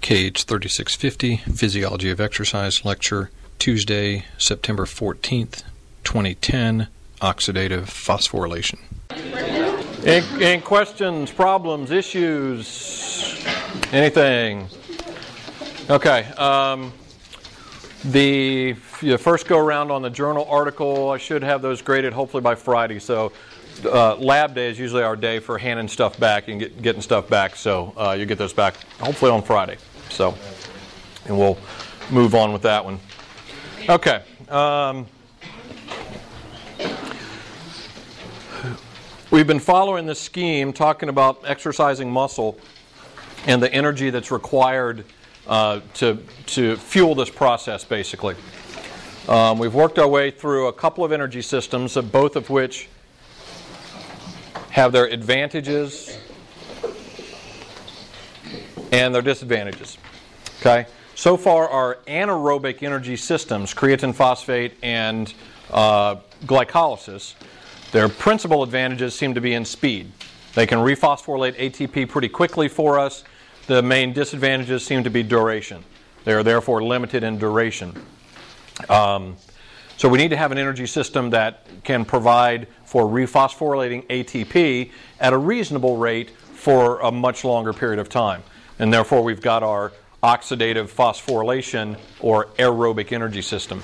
KH 3650, Physiology of Exercise Lecture, Tuesday, September 14th, 2010, Oxidative Phosphorylation. Any questions, problems, issues, anything? Okay. The first go around on the journal article, I should have those graded hopefully by Friday. So lab day is usually our day for handing stuff back and getting stuff back. So you get those back hopefully on Friday. So, and we'll move on with that one. Okay. We've been following this scheme, talking about exercising muscle and the energy that's required to fuel this process, basically. We've worked our way through a couple of energy systems, both of which have their advantages and their disadvantages. Okay? So far, our anaerobic energy systems, creatine phosphate and glycolysis, their principal advantages seem to be in speed. They can rephosphorylate ATP pretty quickly for us. The main disadvantages seem to be duration. They are therefore limited in duration. So we need to have an energy system that can provide for rephosphorylating ATP at a reasonable rate for a much longer period of time. And therefore we've got our oxidative phosphorylation or aerobic energy system.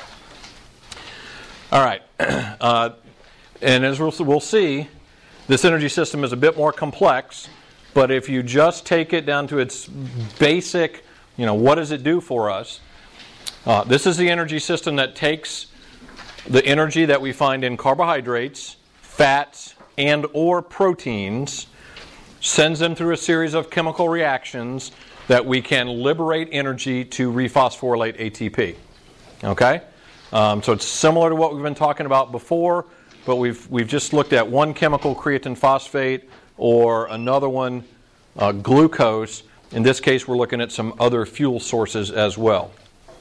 All right. And as we'll see, this energy system is a bit more complex, but if you just take it down to its basic, what does it do for us? This is the energy system that takes the energy that we find in carbohydrates, fats, and or proteins, sends them through a series of chemical reactions that we can liberate energy to rephosphorylate ATP. Okay? So it's similar to what we've been talking about before, but we've just looked at one chemical, creatine phosphate, or another one, glucose. In this case, we're looking at some other fuel sources as well.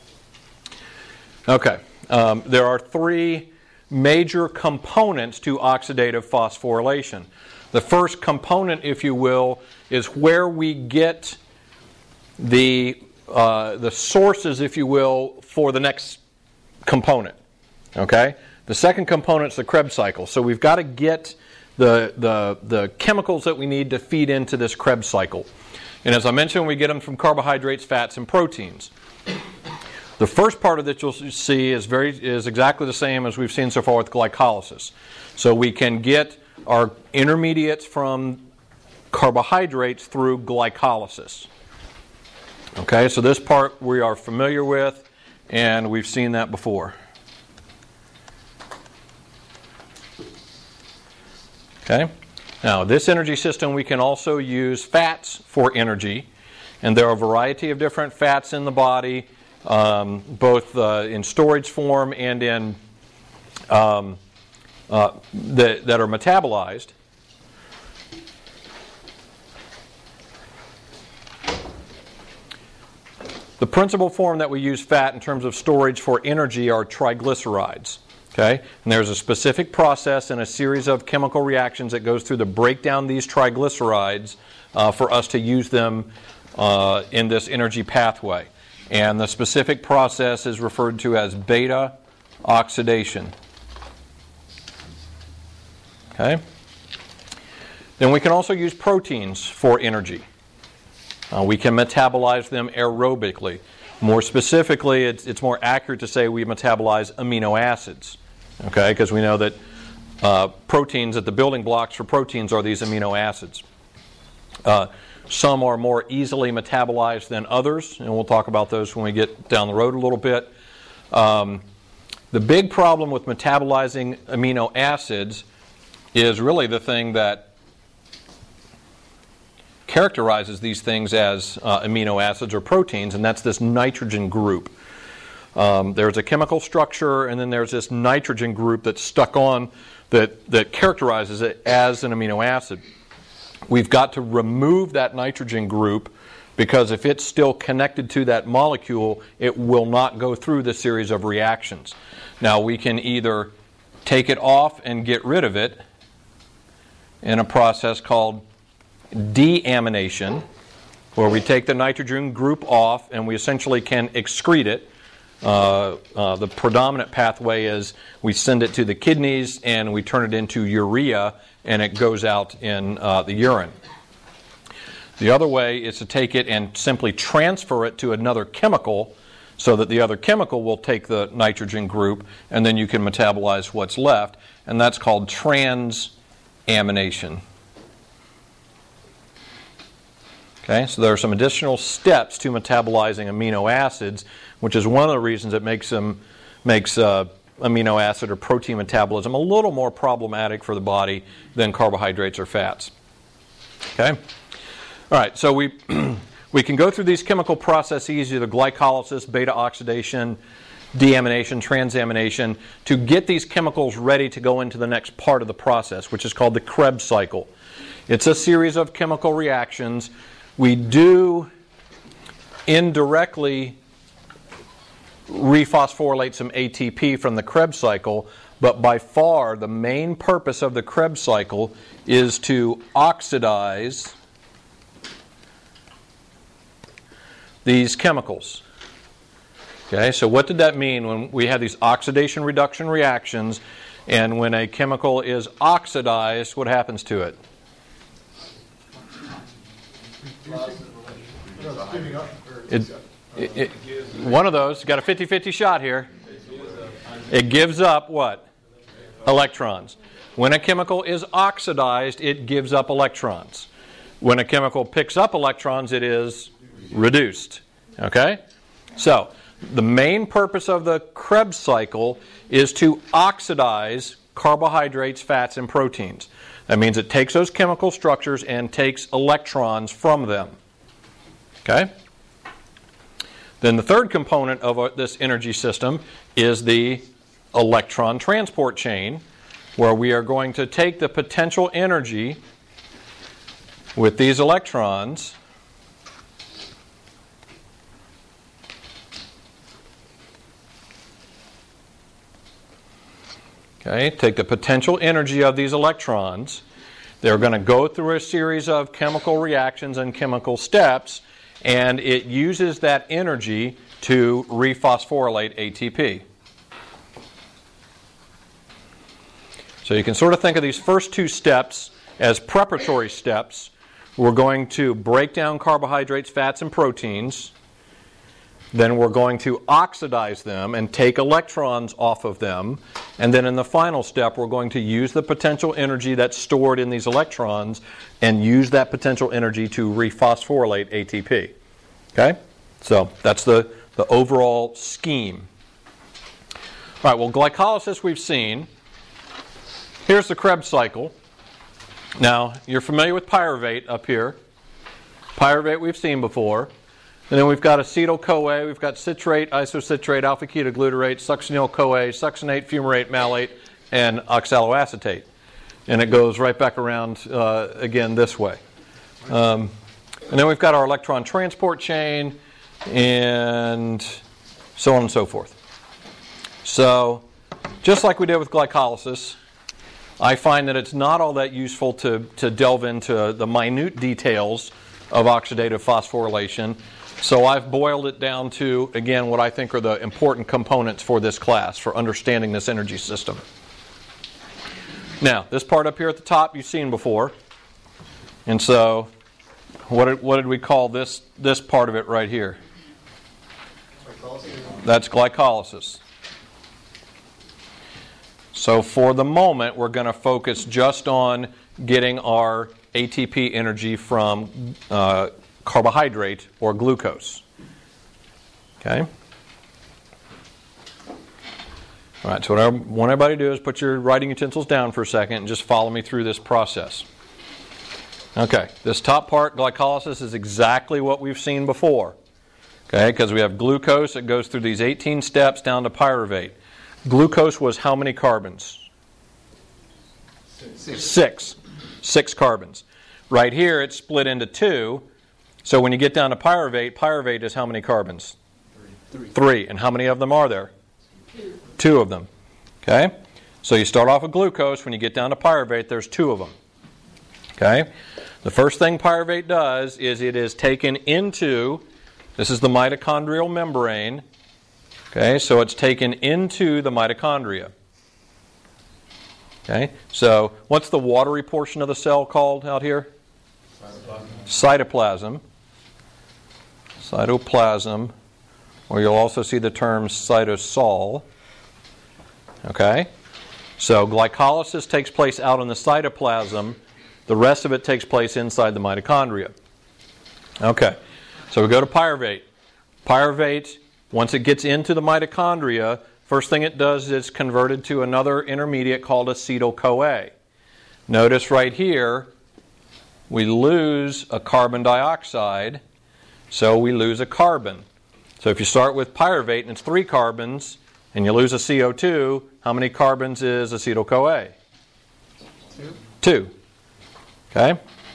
Okay. There are three major components to oxidative phosphorylation. The first component, if you will, is where we get the sources, if you will, for the next component. Okay? The second component is the Krebs cycle. So we've got to get the chemicals that we need to feed into this Krebs cycle. And as I mentioned, we get them from carbohydrates, fats, and proteins. The first part of that you'll see is exactly the same as we've seen so far with glycolysis. So we can get our intermediates from carbohydrates through glycolysis. Okay, so this part we are familiar with, and we've seen that before. Okay, now this energy system we can also use fats for energy, and there are a variety of different fats in the body, both in storage form and in that are metabolized. The principal form that we use fat in terms of storage for energy are triglycerides. Okay? And there's a specific process and a series of chemical reactions that goes through to break down these triglycerides for us to use them in this energy pathway. And the specific process is referred to as beta oxidation. Okay? Then we can also use proteins for energy. We can metabolize them aerobically. More specifically, it's more accurate to say we metabolize amino acids. Okay? Because we know that proteins, that the building blocks for proteins are these amino acids. Some are more easily metabolized than others, and we'll talk about those when we get down the road a little bit. The big problem with metabolizing amino acids is really the thing that characterizes these things as amino acids or proteins, and that's this nitrogen group. There's a chemical structure, and then there's this nitrogen group that's stuck on that characterizes it as an amino acid. We've got to remove that nitrogen group because if it's still connected to that molecule, it will not go through the series of reactions. Now, we can either take it off and get rid of it in a process called deamination, where we take the nitrogen group off and we essentially can excrete it. The predominant pathway is we send it to the kidneys and we turn it into urea and it goes out in the urine. The other way is to take it and simply transfer it to another chemical so that the other chemical will take the nitrogen group and then you can metabolize what's left, and that's called transamination. Okay, so there are some additional steps to metabolizing amino acids, which is one of the reasons it makes amino acid or protein metabolism a little more problematic for the body than carbohydrates or fats. Okay, all right. So we can go through these chemical processes, either glycolysis, beta oxidation, deamination, transamination, to get these chemicals ready to go into the next part of the process, which is called the Krebs cycle. It's a series of chemical reactions. We do indirectly rephosphorylate some ATP from the Krebs cycle, but by far the main purpose of the Krebs cycle is to oxidize these chemicals. Okay, so what did that mean when we have these oxidation reduction reactions, and when a chemical is oxidized, what happens to it? One of those, got a 50-50 shot here. It gives up what? Electrons. When a chemical is oxidized, it gives up electrons. When a chemical picks up electrons, it is reduced. Okay? So, the main purpose of the Krebs cycle is to oxidize carbohydrates, fats, and proteins. That means it takes those chemical structures and takes electrons from them. Okay? Then the third component of this energy system is the electron transport chain, where we are going to take the potential energy with these electrons take the potential energy of these electrons. They're going to go through a series of chemical reactions and chemical steps, and it uses that energy to rephosphorylate ATP. So you can sort of think of these first two steps as preparatory steps. We're going to break down carbohydrates, fats, and proteins. Then we're going to oxidize them and take electrons off of them. And then in the final step, we're going to use the potential energy that's stored in these electrons and use that potential energy to rephosphorylate ATP. Okay? So that's the overall scheme. All right, well, glycolysis we've seen. Here's the Krebs cycle. Now, you're familiar with pyruvate up here. Pyruvate we've seen before. And then we've got acetyl-CoA, we've got citrate, isocitrate, alpha-ketoglutarate, succinyl-CoA, succinate, fumarate, malate, and oxaloacetate. And it goes right back around again this way. And then we've got our electron transport chain and so on and so forth. So, just like we did with glycolysis, I find that it's not all that useful to delve into the minute details of oxidative phosphorylation. So I've boiled it down to, again, what I think are the important components for this class, for understanding this energy system. Now, this part up here at the top you've seen before. And so, what did we call this part of it right here? That's glycolysis. So for the moment, we're going to focus just on getting our ATP energy from carbohydrate or glucose. Okay? All right, so what I want everybody to do is put your writing utensils down for a second and just follow me through this process. Okay, this top part, glycolysis, is exactly what we've seen before. Okay, because we have glucose, it goes through these 18 steps down to pyruvate. Glucose was how many carbons? Six. 6 carbons. Right here, it's split into 2. So when you get down to pyruvate is how many carbons? 3. And how many of them are there? 2 of them. Okay? So you start off with glucose. When you get down to pyruvate, there's 2 of them. Okay? The first thing pyruvate does is it is taken into, this is the mitochondrial membrane. Okay, so it's taken into the mitochondria. Okay, so what's the watery portion of the cell called out here? Cytoplasm. Cytoplasm, or you'll also see the term cytosol. Okay, so glycolysis takes place out in the cytoplasm. The rest of it takes place inside the mitochondria. Okay, so we go to pyruvate. Pyruvate, once it gets into the mitochondria, first thing it does is it's converted to another intermediate called acetyl-CoA. Notice right here, we lose a carbon dioxide, so we lose a carbon. So if you start with pyruvate and it's 3 carbons, and you lose a CO2, how many carbons is acetyl-CoA? 2. Okay?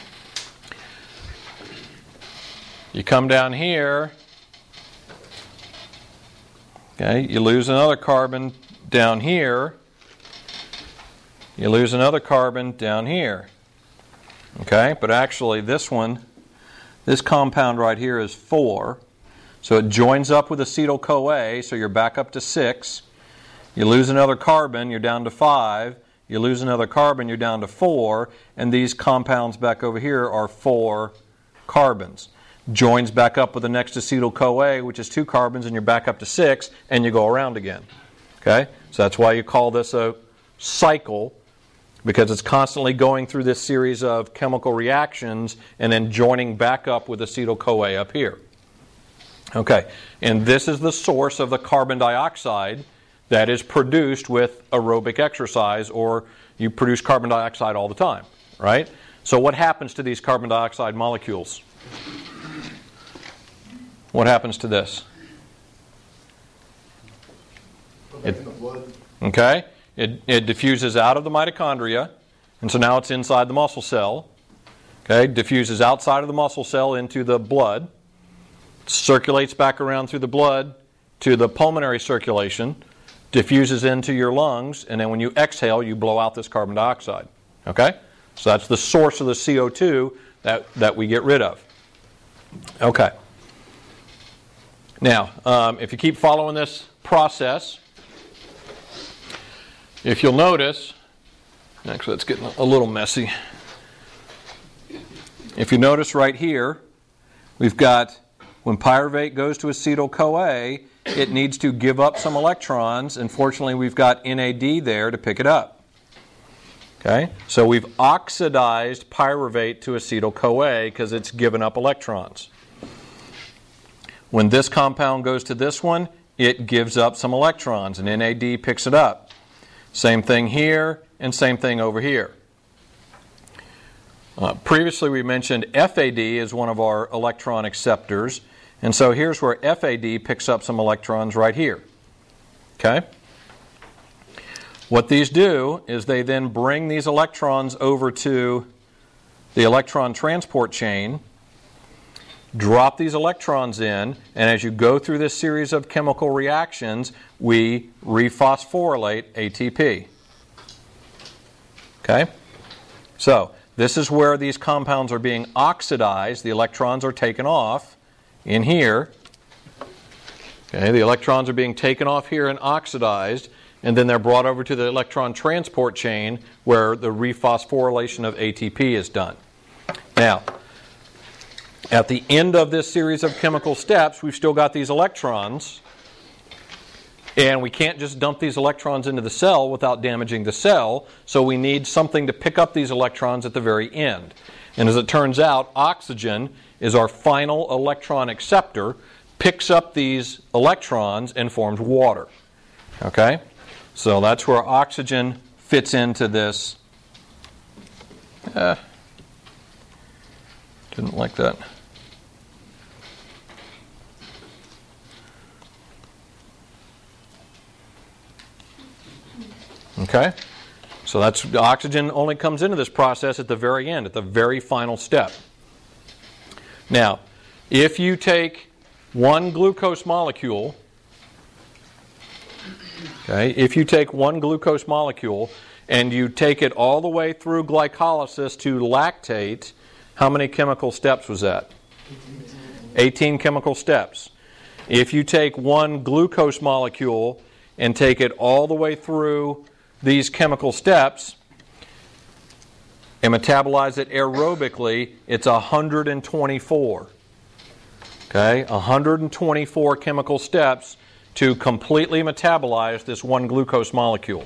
You come down here, okay, you lose another carbon down here, you lose another carbon down here. Okay, but actually this compound right here is 4. So it joins up with acetyl-CoA, so you're back up to 6. You lose another carbon, you're down to 5. You lose another carbon, you're down to 4. And these compounds back over here are 4 carbons. Joins back up with the next acetyl-CoA, which is 2 carbons, and you're back up to 6, and you go around again. Okay? So that's why you call this a cycle, because it's constantly going through this series of chemical reactions and then joining back up with acetyl-CoA up here. Okay, and this is the source of the carbon dioxide that is produced with aerobic exercise, or you produce carbon dioxide all the time, right? So what happens to these carbon dioxide molecules? What happens to this? Okay, it diffuses out of the mitochondria, and so now it's inside the muscle cell. Okay, diffuses outside of the muscle cell into the blood, circulates back around through the blood to the pulmonary circulation, diffuses into your lungs, and then when you exhale, you blow out this carbon dioxide. Okay? So that's the source of the CO2 that we get rid of. Okay. Now, if you keep following this process, if you'll notice, actually it's getting a little messy. If you notice right here, we've got, when pyruvate goes to acetyl-CoA, it needs to give up some electrons, and fortunately we've got NAD there to pick it up. Okay? So we've oxidized pyruvate to acetyl-CoA because it's given up electrons. When this compound goes to this one, it gives up some electrons, and NAD picks it up. Same thing here, and same thing over here. Previously we mentioned FAD is one of our electron acceptors, and so here's where FAD picks up some electrons right here. Okay? What these do is they then bring these electrons over to the electron transport chain, drop these electrons in, and as you go through this series of chemical reactions, we rephosphorylate ATP. Okay? So, this is where these compounds are being oxidized. The electrons are taken off in here. Okay, the electrons are being taken off here and oxidized, and then they're brought over to the electron transport chain where the rephosphorylation of ATP is done. Now, at the end of this series of chemical steps, we've still got these electrons, and we can't just dump these electrons into the cell without damaging the cell, so we need something to pick up these electrons at the very end. And as it turns out, oxygen is our final electron acceptor, picks up these electrons and forms water. Okay? So that's where oxygen fits into this. Didn't like that. Okay? So that's, oxygen only comes into this process at the very end, at the very final step. Now, if you take one glucose molecule, okay, if you take one glucose molecule and you take it all the way through glycolysis to lactate, How many chemical steps was that? 18 chemical steps. If you take one glucose molecule and take it all the way through these chemical steps and metabolize it aerobically, it's 124. Okay, 124 chemical steps to completely metabolize this one glucose molecule.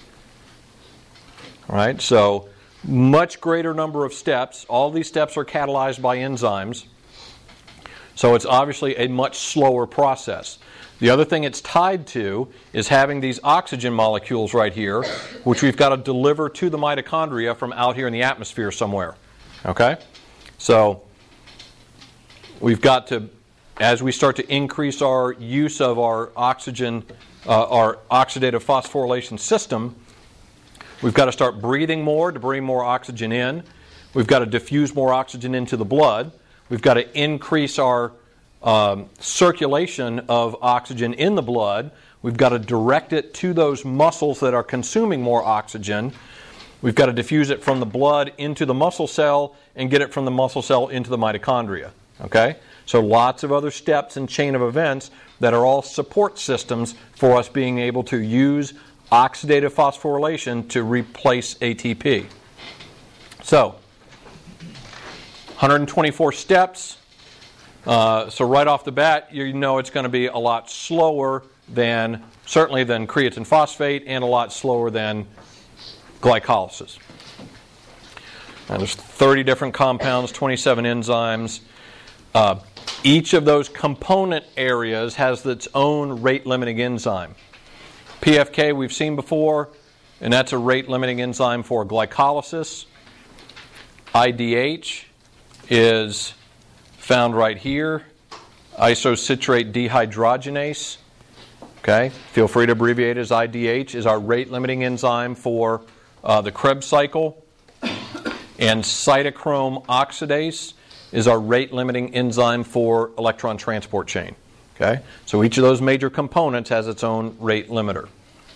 All right, so much greater number of steps. All these steps are catalyzed by enzymes. So it's obviously a much slower process. The other thing it's tied to is having these oxygen molecules right here, which we've got to deliver to the mitochondria from out here in the atmosphere somewhere. Okay? So we've got to, as we start to increase our use of our oxygen, our oxidative phosphorylation system, we've got to start breathing more to bring more oxygen in. We've got to diffuse more oxygen into the blood. We've got to increase our circulation of oxygen in the blood. We've got to direct it to those muscles that are consuming more oxygen. We've got to diffuse it from the blood into the muscle cell and get it from the muscle cell into the mitochondria. Okay? So lots of other steps and chain of events that are all support systems for us being able to use oxidative phosphorylation to replace ATP. So, 124 steps. So right off the bat, you know it's going to be a lot slower than, certainly than creatine phosphate, and a lot slower than glycolysis. Now, there's 30 different compounds, 27 enzymes. Each of those component areas has its own rate-limiting enzyme. PFK we've seen before, and that's a rate-limiting enzyme for glycolysis. IDH is found right here, isocitrate dehydrogenase. Okay, feel free to abbreviate it as IDH, is our rate-limiting enzyme for the Krebs cycle. And cytochrome oxidase is our rate-limiting enzyme for electron transport chain. Okay, so each of those major components has its own rate limiter.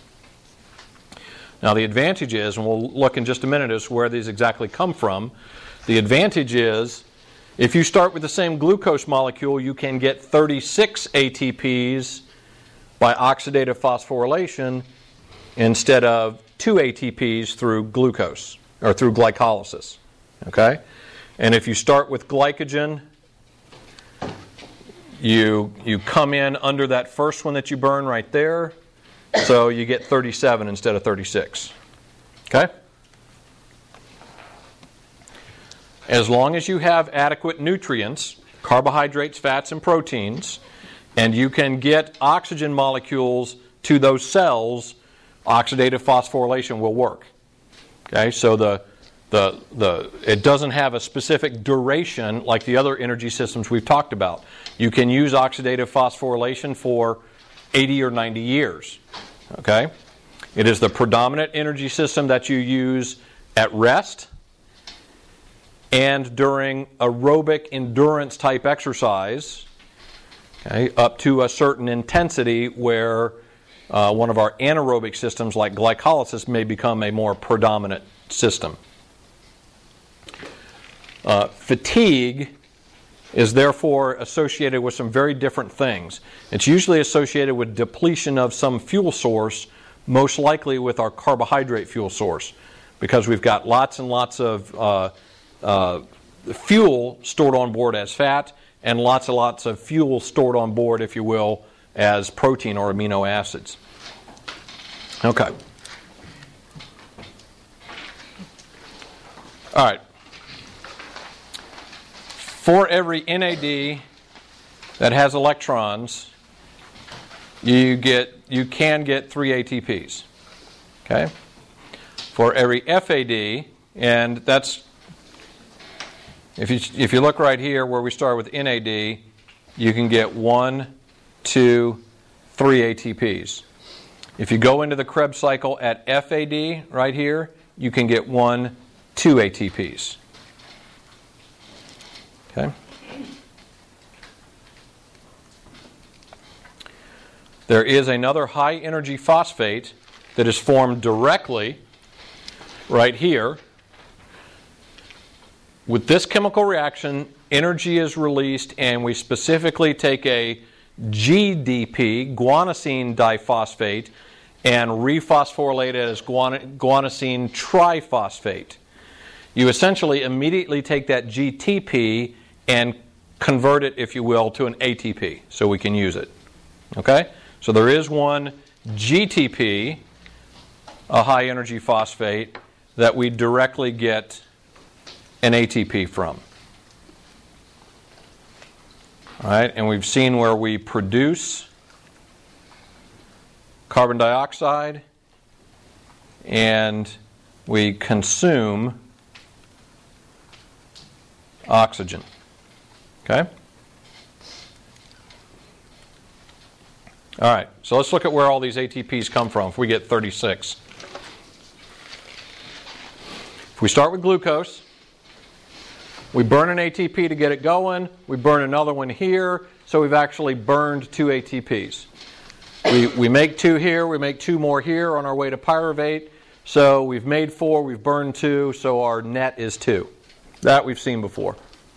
Now the advantage is, and we'll look in just a minute as to where these exactly come from, the advantage is if you start with the same glucose molecule, you can get 36 ATPs by oxidative phosphorylation instead of 2 ATPs through glucose, or through glycolysis. Okay? And if you start with glycogen, you come in under that first one that you burn right there, so you get 37 instead of 36. Okay? As long as you have adequate nutrients, carbohydrates, fats, and proteins, and you can get oxygen molecules to those cells, oxidative phosphorylation will work. Okay, so it doesn't have a specific duration like the other energy systems we've talked about. You can use oxidative phosphorylation for 80 or 90 years. Okay? It is the predominant energy system that you use at rest and during aerobic endurance type exercise, okay, up to a certain intensity where one of our anaerobic systems like glycolysis may become a more predominant system. Fatigue is therefore associated with some very different things. It's usually associated with depletion of some fuel source, most likely with our carbohydrate fuel source, because we've got lots and lots of fuel stored on board as fat and lots and lots of fuel stored on board, if you will, as protein or amino acids. Okay. All right. For every NAD that has electrons, you can get 3 ATPs. Okay? For every FAD, and that's, if you look right here where we start with NAD, you can get 1, 2, 3 ATPs. If you go into the Krebs cycle at FAD right here, you can get 1, 2 ATPs. Okay? There is another high energy phosphate that is formed directly right here with this chemical reaction, energy is released, and we specifically take a GDP, guanosine diphosphate, and rephosphorylate it as guanosine triphosphate. You essentially immediately take that GTP and convert it, if you will, to an ATP so we can use it. Okay? So there is one GTP, a high energy phosphate, that we directly get an ATP from. All right, and we've seen where we produce carbon dioxide and we consume oxygen. Okay? All right, so let's look at where all these ATPs come from if we get 36. If we start with glucose, we burn an ATP to get it going. We burn another one here, so we've actually burned 2 ATPs. We make 2 here, we make 2 more here on our way to pyruvate. So we've made 4, we've burned 2, so our net is 2. That we've seen before.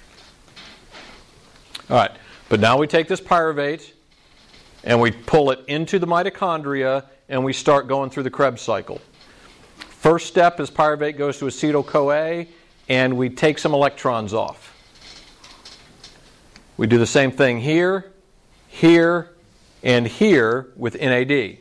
All right, but now we take this pyruvate and we pull it into the mitochondria and we start going through the Krebs cycle. First step is pyruvate goes to acetyl-CoA and we take some electrons off. We do the same thing here, here, and here with NAD.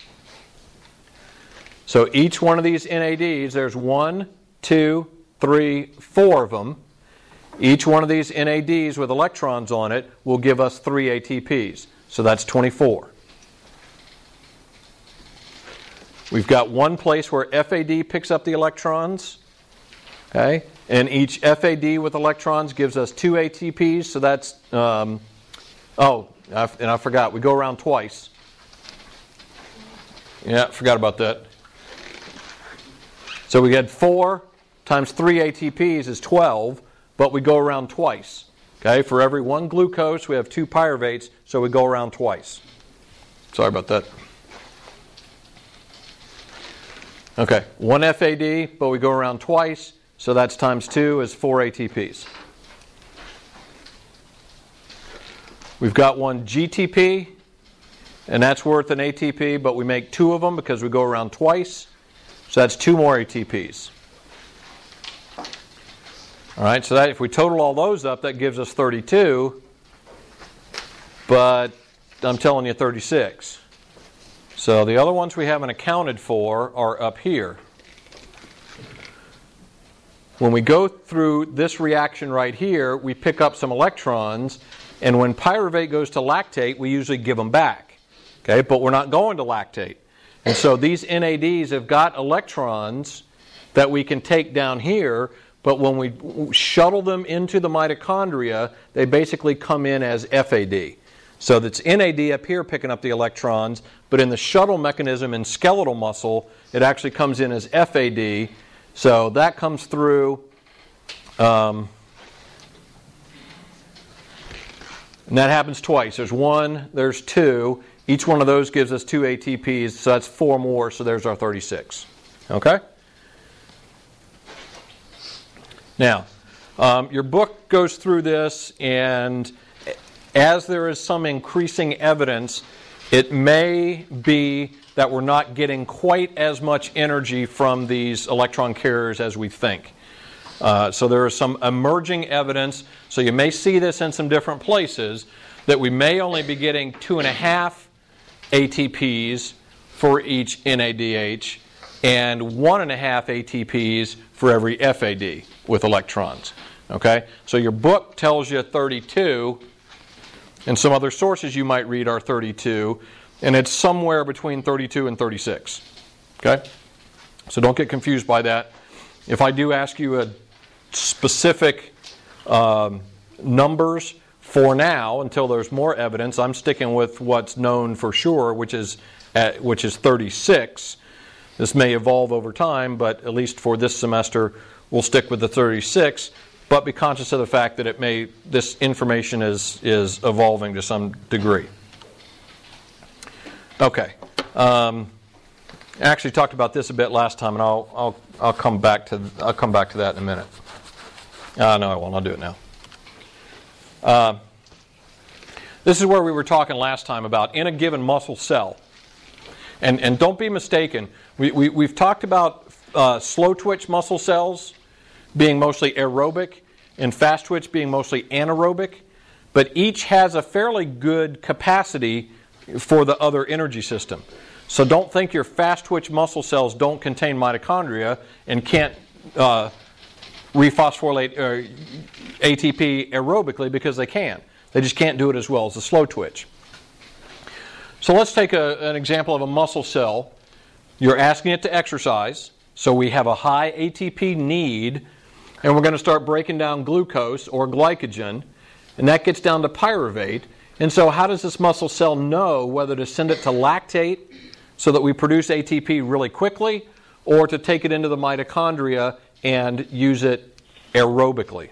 So each one of these NADs, there's 1, 2, 3, 4 of them. Each one of these NADs with electrons on it will give us 3 ATPs. So that's 24. We've got one place where FAD picks up the electrons. Okay? And each FAD with electrons gives us 2 ATPs. So that's, I forgot, we go around twice. Yeah, forgot about that. So we get 4 times 3 ATPs is 12, but we go around twice. Okay, for every 1 glucose, we have 2 pyruvates, so we go around twice. Sorry about that. Okay, 1 FAD, but we go around twice, so that's times 2 is 4 ATPs. We've got 1 GTP, and that's worth an ATP, but we make 2 of them because we go around twice, so that's 2 more ATPs. All right, so that if we total all those up, that gives us 32, but I'm telling you 36. So the other ones we haven't accounted for are up here. When we go through this reaction right here, we pick up some electrons, and when pyruvate goes to lactate, we usually give them back. Okay, but we're not going to lactate. And so these NADs have got electrons that we can take down here, but when we shuttle them into the mitochondria, they basically come in as FAD. So that's NAD up here picking up the electrons, but in the shuttle mechanism in skeletal muscle, it actually comes in as FAD. So that comes through, and that happens twice. There's 1, there's 2. Each one of those gives us 2 ATPs, so that's 4 more, so there's our 36. Okay? Now, your book goes through this, and as there is some increasing evidence, it may be that we're not getting quite as much energy from these electron carriers as we think. So there is some emerging evidence, so you may see this in some different places, that we may only be getting 2.5 ATPs for each NADH and 1.5 ATPs for every FAD with electrons. Okay? So your book tells you 32, and some other sources you might read are 32, and it's somewhere between 32 and 36. Okay? So don't get confused by that. If I do ask you a specific numbers for now, until there's more evidence, I'm sticking with what's known for sure, which is 36. This may evolve over time, but at least for this semester, we'll stick with the 36. But be conscious of the fact that this information is evolving to some degree. Okay, I actually talked about this a bit last time, and I'll come back to that in a minute. No, I won't. I'll do it now. This is where we were talking last time about in a given muscle cell. And don't be mistaken. We've talked about slow twitch muscle cells being mostly aerobic and fast twitch being mostly anaerobic. But each has a fairly good capacity for the other energy system. So don't think your fast twitch muscle cells don't contain mitochondria and can't rephosphorylate ATP aerobically, because they can. They just can't do it as well as the slow twitch. So let's take an example of a muscle cell. You're asking it to exercise, so we have a high ATP need, and we're going to start breaking down glucose or glycogen, and that gets down to pyruvate. And so how does this muscle cell know whether to send it to lactate so that we produce ATP really quickly, or to take it into the mitochondria and use it aerobically?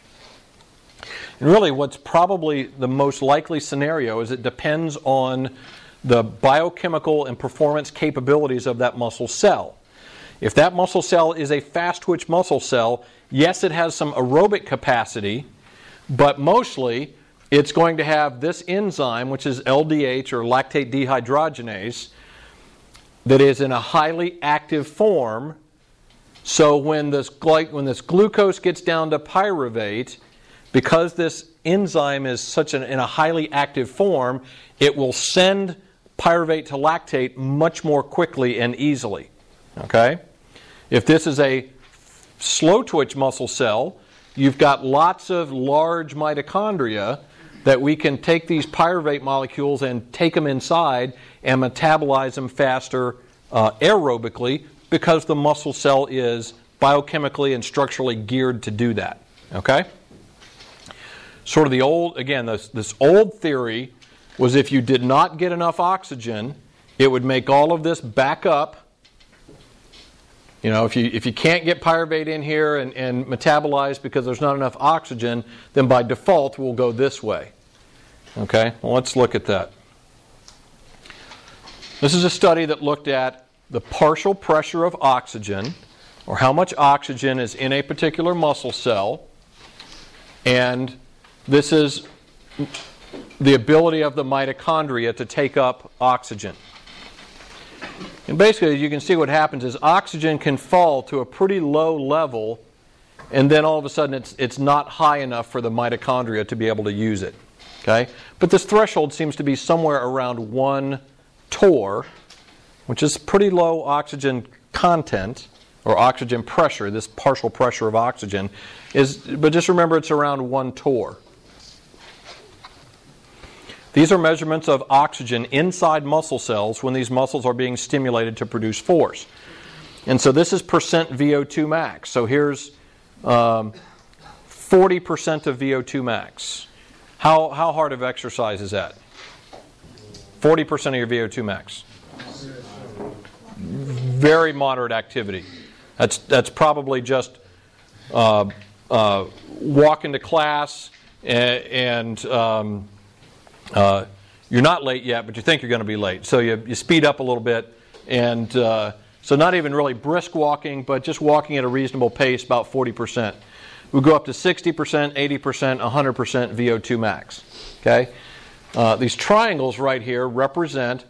And really what's probably the most likely scenario is it depends on the biochemical and performance capabilities of that muscle cell. If that muscle cell is a fast twitch muscle cell, yes, it has some aerobic capacity, but mostly it's going to have this enzyme, which is LDH, or lactate dehydrogenase, that is in a highly active form. So when this glucose gets down to pyruvate, because this enzyme is in a highly active form, it will send pyruvate to lactate much more quickly and easily. Okay? If this is a slow twitch muscle cell, you've got lots of large mitochondria that we can take these pyruvate molecules and take them inside and metabolize them faster aerobically, because the muscle cell is biochemically and structurally geared to do that. Okay? Sort of the old, again, this old theory was if you did not get enough oxygen, it would make all of this back up. You know, if you can't get pyruvate in here and metabolize because there's not enough oxygen, then by default we'll go this way. Okay, well, let's look at that. This is a study that looked at the partial pressure of oxygen, or how much oxygen is in a particular muscle cell, and this is the ability of the mitochondria to take up oxygen. And basically, you can see what happens is oxygen can fall to a pretty low level, and then all of a sudden it's not high enough for the mitochondria to be able to use it. Okay? But this threshold seems to be somewhere around 1 torr, which is pretty low oxygen content, or oxygen pressure. This partial pressure of oxygen is, but just remember it's around 1 torr. These are measurements of oxygen inside muscle cells when these muscles are being stimulated to produce force. And so this is percent VO2 max. So here's 40% of VO2 max. How hard of exercise is that? 40% of your VO2 max. Very moderate activity. That's probably just walk into class and you're not late yet, but you think you're going to be late. So you speed up a little bit, and so not even really brisk walking, but just walking at a reasonable pace, about 40%. We go up to 60%, 80%, 100% VO2 max. Okay, these triangles right here represent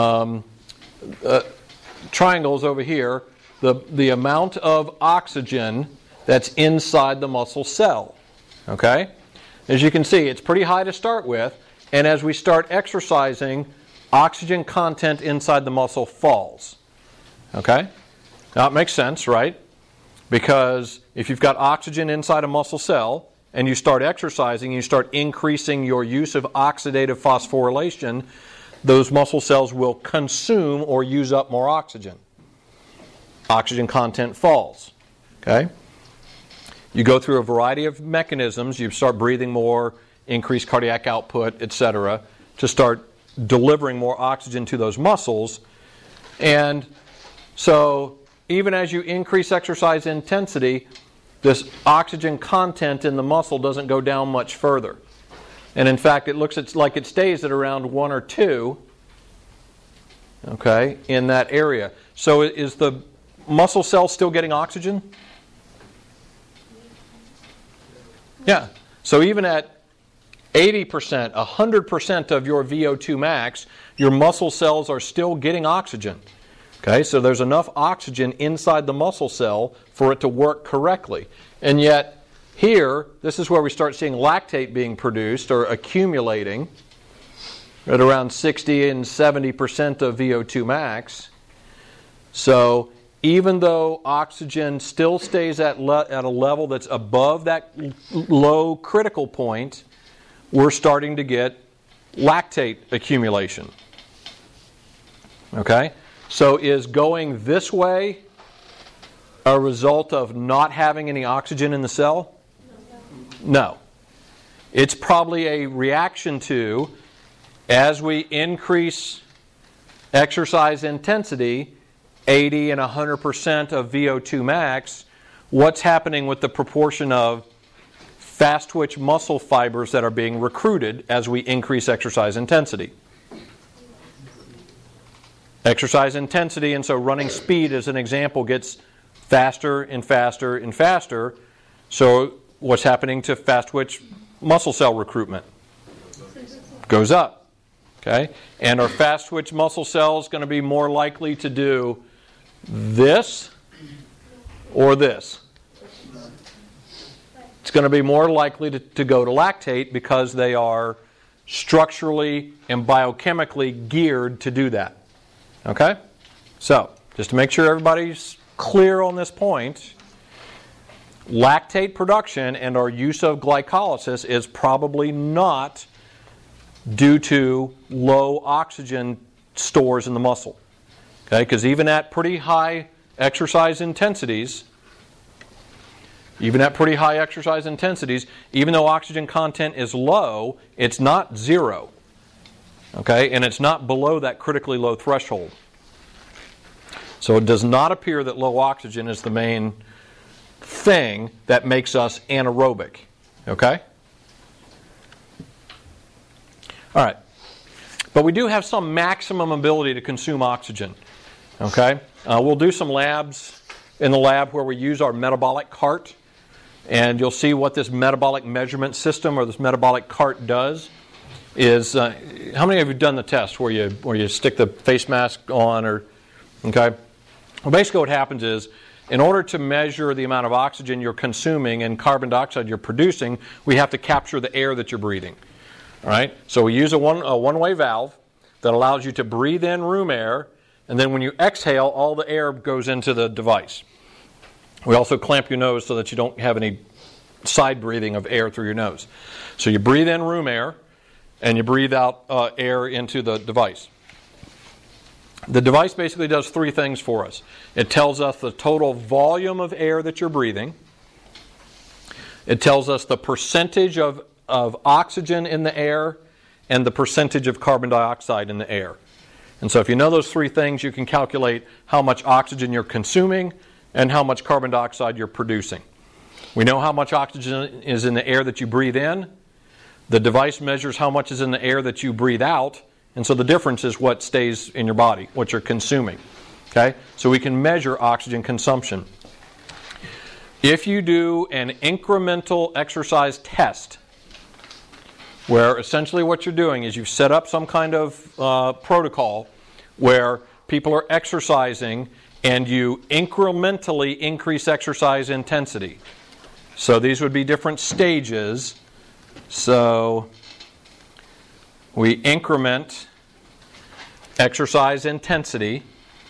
triangles over here, the amount of oxygen that's inside the muscle cell. Okay, as you can see, it's pretty high to start with. And as we start exercising, oxygen content inside the muscle falls. Okay? Now it makes sense, right? Because if you've got oxygen inside a muscle cell and you start exercising, you start increasing your use of oxidative phosphorylation, those muscle cells will consume or use up more oxygen. Oxygen content falls. Okay? You go through a variety of mechanisms. You start breathing more, increase cardiac output, etc., to start delivering more oxygen to those muscles. And so even as you increase exercise intensity, this oxygen content in the muscle doesn't go down much further. And in fact, it looks like it stays at around 1 or 2, okay, in that area. So is the muscle cell still getting oxygen? Yeah. So even at 80%, 100% of your VO2 max, your muscle cells are still getting oxygen. Okay, so there's enough oxygen inside the muscle cell for it to work correctly. And yet, here, this is where we start seeing lactate being produced or accumulating at around 60 and 70% of VO2 max. So even though oxygen still stays at a level that's above that low critical point, we're starting to get lactate accumulation. Okay? So is going this way a result of not having any oxygen in the cell? No. It's probably a reaction to, as we increase exercise intensity, 80 and 100% of VO2 max, what's happening with the proportion of fast twitch muscle fibers that are being recruited as we increase exercise intensity? Exercise intensity, and so running speed as an example, gets faster and faster and faster. So what's happening to fast twitch muscle cell recruitment? Goes up. Okay? And are fast twitch muscle cells going to be more likely to do this or this? It's going to be more likely to go to lactate because they are structurally and biochemically geared to do that. Okay? So, just to make sure everybody's clear on this point, lactate production and our use of glycolysis is probably not due to low oxygen stores in the muscle. Okay? Because even at pretty high exercise intensities, even though oxygen content is low, it's not zero. Okay? And it's not below that critically low threshold. So it does not appear that low oxygen is the main thing that makes us anaerobic. Okay? All right. But we do have some maximum ability to consume oxygen. Okay? We'll do some labs in the lab where we use our metabolic cart. And you'll see what this metabolic measurement system or this metabolic cart does. Is how many of you have done the test where you stick the face mask on? Or okay? Well, basically what happens is, in order to measure the amount of oxygen you're consuming and carbon dioxide you're producing, we have to capture the air that you're breathing. All right? So we use a one-way valve that allows you to breathe in room air, and then when you exhale, all the air goes into the device. We also clamp your nose so that you don't have any side breathing of air through your nose. So you breathe in room air, and you breathe out air into the device. The device basically does three things for us. It tells us the total volume of air that you're breathing. It tells us the percentage of oxygen in the air and the percentage of carbon dioxide in the air. And so if you know those three things, you can calculate how much oxygen you're consuming and how much carbon dioxide you're producing. We know how much oxygen is in the air that you breathe in. The device measures how much is in the air that you breathe out, and so the difference is what stays in your body, what you're consuming. Okay? So we can measure oxygen consumption. If you do an incremental exercise test, where essentially what you're doing is you've set up some kind of protocol where people are exercising and you incrementally increase exercise intensity. So these would be different stages. So we increment exercise intensity.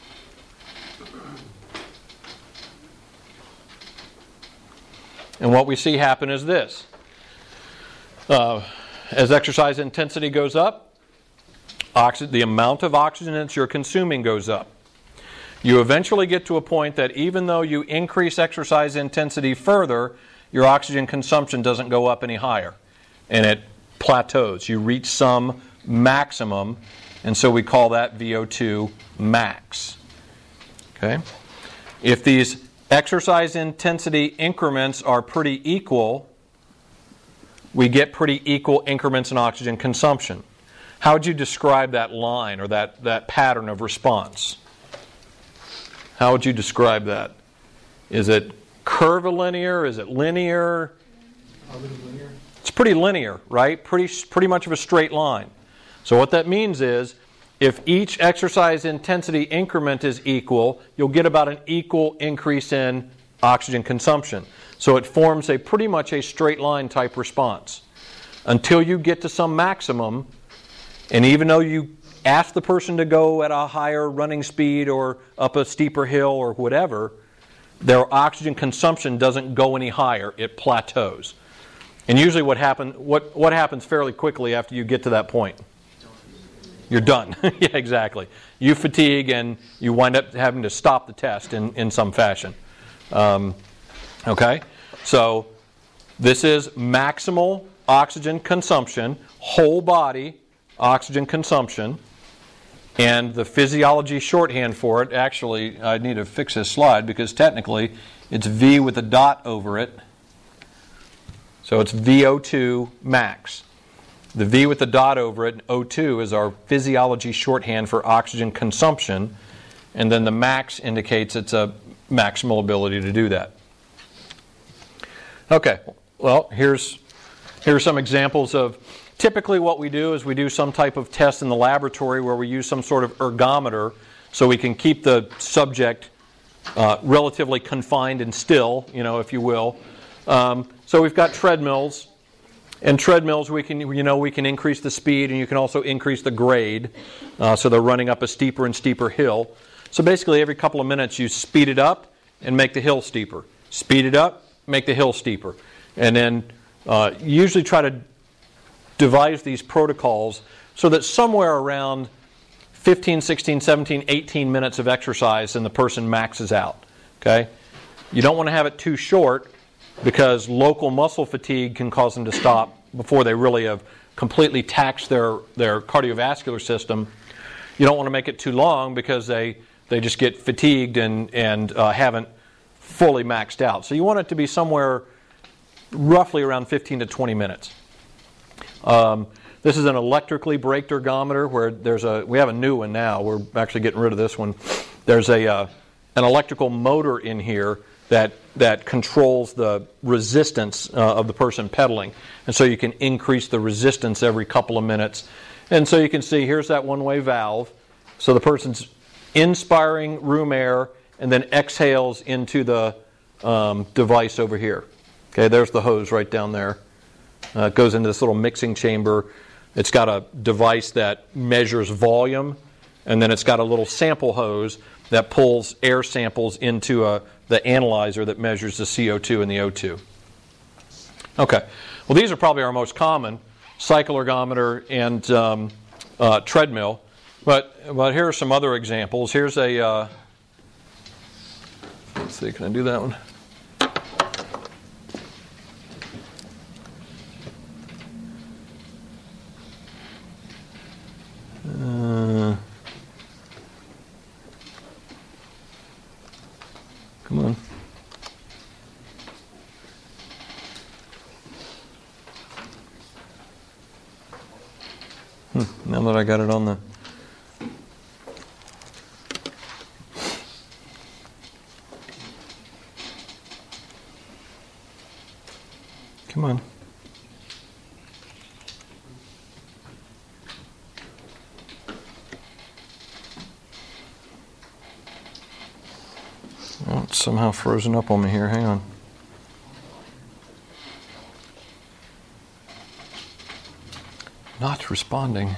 And what we see happen is this. As exercise intensity goes up, the amount of oxygen that you're consuming goes up. You eventually get to a point that even though you increase exercise intensity further, your oxygen consumption doesn't go up any higher. And it plateaus. You reach some maximum, and so we call that VO2 max. Okay? If these exercise intensity increments are pretty equal, we get pretty equal increments in oxygen consumption. How would you describe that line or that pattern of response? How would you describe that? Is it curvilinear? Is it linear? It's pretty linear, right? Pretty much of a straight line. So what that means is, if each exercise intensity increment is equal, you'll get about an equal increase in oxygen consumption. So it forms pretty much a straight line type response. Until you get to some maximum, and even though you ask the person to go at a higher running speed or up a steeper hill or whatever, their oxygen consumption doesn't go any higher. It plateaus. And usually what happens fairly quickly after you get to that point? You're done. Yeah, exactly. You fatigue and you wind up having to stop the test in some fashion. Okay? So this is maximal oxygen consumption, whole body oxygen consumption. And the physiology shorthand for it, actually, I need to fix this slide because technically it's V with a dot over it. So it's VO2 max. The V with the dot over it, O2, is our physiology shorthand for oxygen consumption. And then the max indicates it's a maximal ability to do that. Okay, well, here's some examples of typically what we do is we do some type of test in the laboratory where we use some sort of ergometer so we can keep the subject relatively confined and still, if you will. So we've got treadmills. And treadmills, we can increase the speed and you can also increase the grade. So they're running up a steeper and steeper hill. So basically every couple of minutes you speed it up and make the hill steeper. Speed it up, make the hill steeper. And then usually try to devise these protocols so that somewhere around 15, 16, 17, 18 minutes of exercise and the person maxes out. Okay? You don't want to have it too short because local muscle fatigue can cause them to stop before they really have completely taxed their cardiovascular system. You don't want to make it too long because they just get fatigued and haven't fully maxed out. So you want it to be somewhere roughly around 15 to 20 minutes. This is an electrically braked ergometer where we have a new one now. We're actually getting rid of this one. There's an electrical motor in here that controls the resistance of the person pedaling. And so you can increase the resistance every couple of minutes. And so you can see here's that one-way valve. So the person's inspiring room air and then exhales into the device over here. Okay, there's the hose right down there. It goes into this little mixing chamber. It's got a device that measures volume, and then it's got a little sample hose that pulls air samples into the analyzer that measures the CO2 and the O2. Okay, well these are probably our most common, cycle ergometer and treadmill. But here are some other examples. Here's a, let's see, can I do that one? Come on. Now that I got it on the... Come on. Oh, it's somehow frozen up on me here. Hang on. Not responding.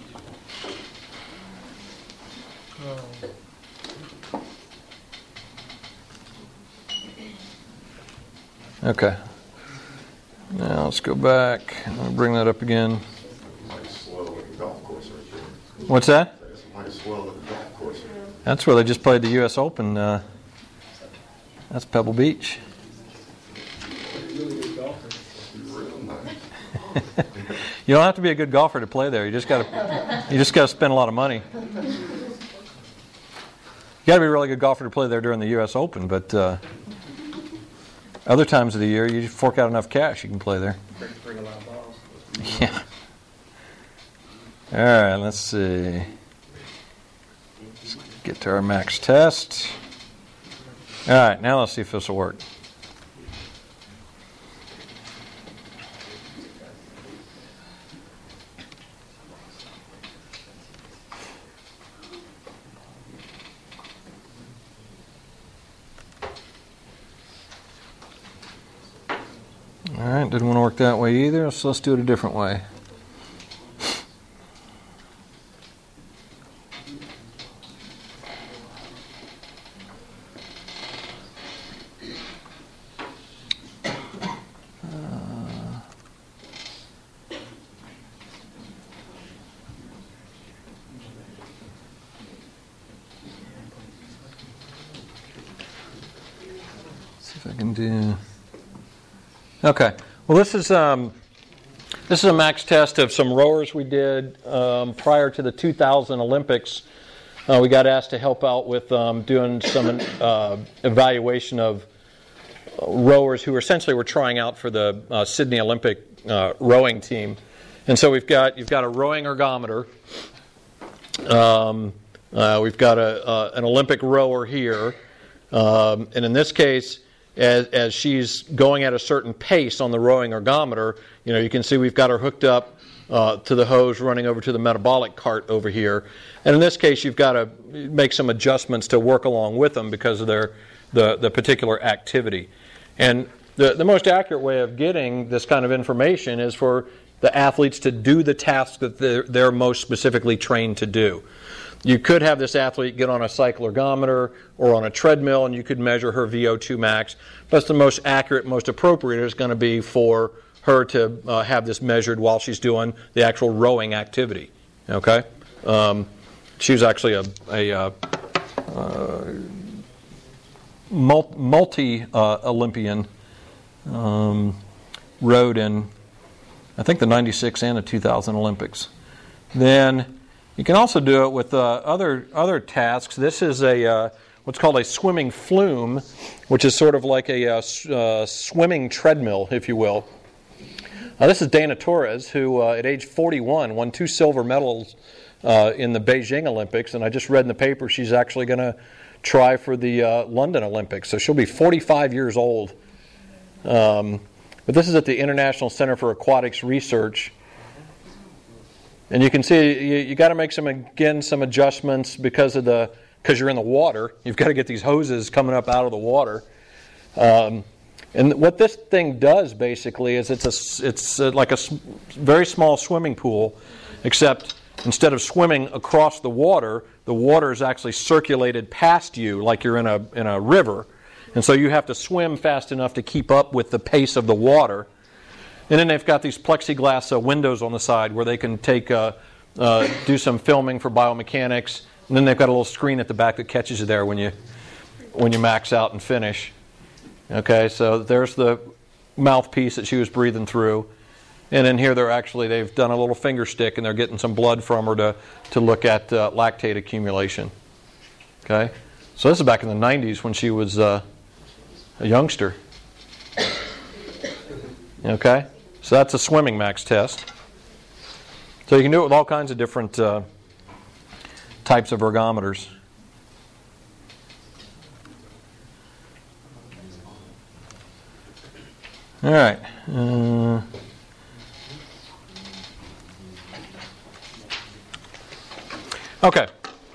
Okay. Now let's go back. I'll bring that up again. What's that? That's where they just played the U.S. Open. That's Pebble Beach. You don't have to be a good golfer to play there. You just got to spend a lot of money. You got to be a really good golfer to play there during the U.S. Open, but other times of the year, you fork out enough cash, you can play there. Bring a lot of balls. Yeah. All right, let's see. Let's get to our max test. All right, now let's see if this will work. right, didn't want to work that way either, so let's do it a different way. I can do. Okay. Well, this is a max test of some rowers we did prior to the 2000 Olympics. We got asked to help out with doing some evaluation of rowers who essentially were trying out for the Sydney Olympic rowing team. And so you've got a rowing ergometer. We've got an Olympic rower here, and in this case, as she's going at a certain pace on the rowing ergometer, you can see we've got her hooked up to the hose running over to the metabolic cart over here. And in this case, you've got to make some adjustments to work along with them because of the particular activity. And the most accurate way of getting this kind of information is for the athletes to do the tasks that they're most specifically trained to do. You could have this athlete get on a cycle ergometer or on a treadmill and you could measure her VO2 max. But the most accurate, most appropriate is going to be for her to have this measured while she's doing the actual rowing activity. Okay? She was actually a multi-Olympian, rowed in, I think, the 96 and the 2000 Olympics. Then you can also do it with other tasks. This is what's called a swimming flume, which is sort of like a swimming treadmill, if you will. This is Dana Torres, who at age 41 won 2 silver medals in the Beijing Olympics, and I just read in the paper she's actually going to try for the London Olympics. So she'll be 45 years old. But this is at the International Center for Aquatics Research. And you can see you got to make some adjustments because you're in the water. You've got to get these hoses coming up out of the water. And what this thing does basically is it's like a very small swimming pool, except instead of swimming across the water is actually circulated past you like you're in a river. And so you have to swim fast enough to keep up with the pace of the water. And then they've got these plexiglass windows on the side where they can do some filming for biomechanics. And then they've got a little screen at the back that catches you there when you max out and finish. Okay, so there's the mouthpiece that she was breathing through. And in here they've done a little finger stick and they're getting some blood from her to look at lactate accumulation. Okay, so this is back in the 90s when she was a youngster. Okay, so that's a swimming max test. So you can do it with all kinds of different types of ergometers. All right. Okay.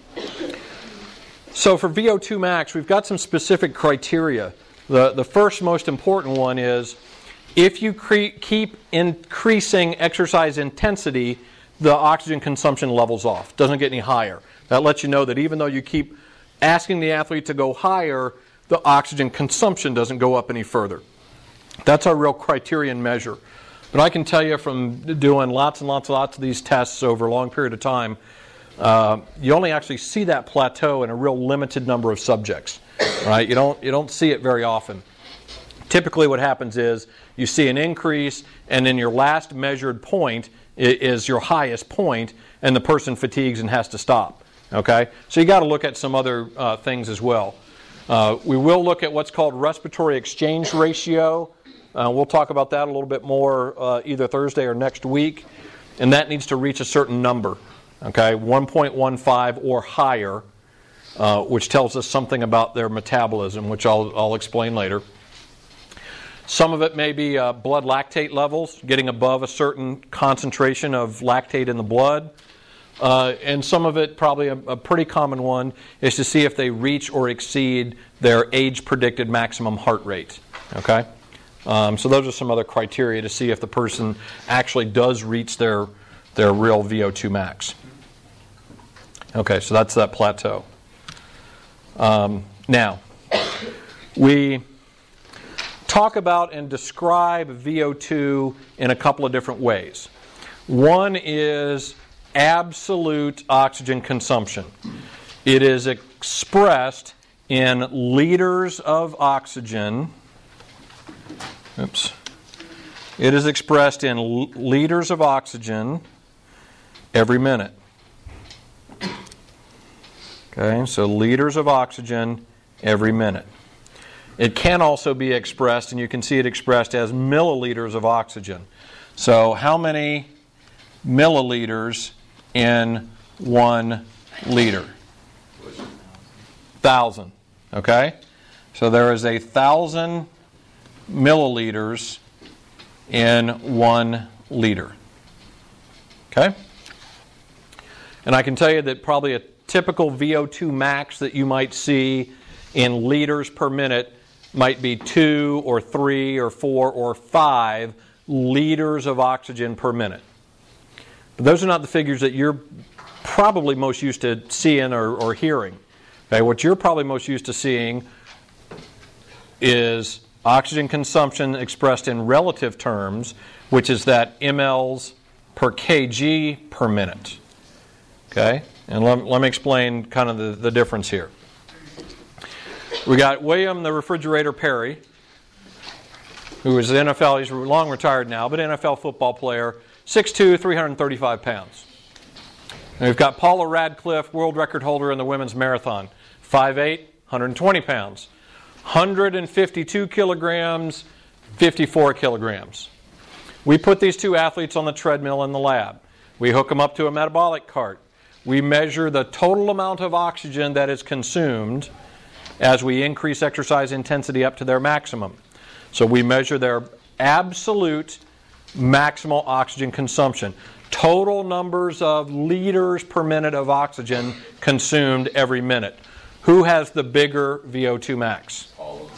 So for VO2 max, we've got some specific criteria. The first most important one is if you keep increasing exercise intensity, the oxygen consumption levels off. Doesn't get any higher. That lets you know that even though you keep asking the athlete to go higher, the oxygen consumption doesn't go up any further. That's our real criterion measure. But I can tell you from doing lots and lots of these tests over a long period of time, you only actually see that plateau in a real limited number of subjects. Right? You don't see it very often. Typically what happens is you see an increase, and then your last measured point is your highest point, and the person fatigues and has to stop. Okay? So you got to look at some other things as well. We will look at what's called respiratory exchange ratio. We'll talk about that a little bit more either Thursday or next week, and that needs to reach a certain number. Okay, 1.15 or higher, which tells us something about their metabolism, which I'll explain later. Some of it may be blood lactate levels, getting above a certain concentration of lactate in the blood. And some of it, probably a pretty common one, is to see if they reach or exceed their age-predicted maximum heart rate. Okay? So those are some other criteria to see if the person actually does reach their real VO2 max. Okay, so that's that plateau. Now, we talk about and describe VO2 in a couple of different ways. One is absolute oxygen consumption. It is expressed in liters of oxygen. It is expressed in liters of oxygen every minute. Okay, so liters of oxygen every minute. It can also be expressed, and you can see it expressed as milliliters of oxygen. So how many milliliters in 1 liter? 1,000. Okay? So there is 1,000 milliliters in 1 liter. Okay? And I can tell you that probably a typical VO2 max that you might see in liters per minute might be 2 or 3 or 4 or 5 liters of oxygen per minute. But those are not the figures that you're probably most used to seeing or hearing. Okay, what you're probably most used to seeing is oxygen consumption expressed in relative terms, which is that mLs per kg per minute. Okay, and let me explain kind of the difference here. We got William the Refrigerator Perry, who is an NFL, he's long retired now, but NFL football player, 6'2", 335 pounds. And we've got Paula Radcliffe, world record holder in the women's marathon, 5'8", 120 pounds. 152 kilograms, 54 kilograms. We put these two athletes on the treadmill in the lab. We hook them up to a metabolic cart. We measure the total amount of oxygen that is consumed as we increase exercise intensity up to their maximum. So we measure their absolute maximal oxygen consumption. Total numbers of liters per minute of oxygen consumed every minute. Who has the bigger VO2 max?